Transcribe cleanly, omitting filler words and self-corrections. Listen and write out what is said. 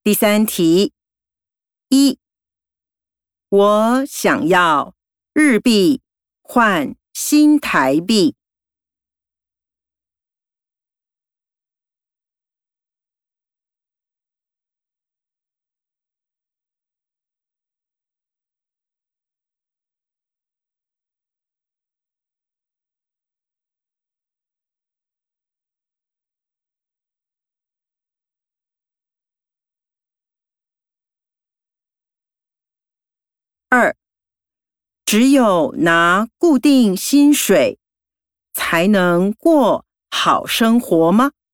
第3题，1，我想要日币换新台币。2，只有拿固定薪水才能过好生活吗？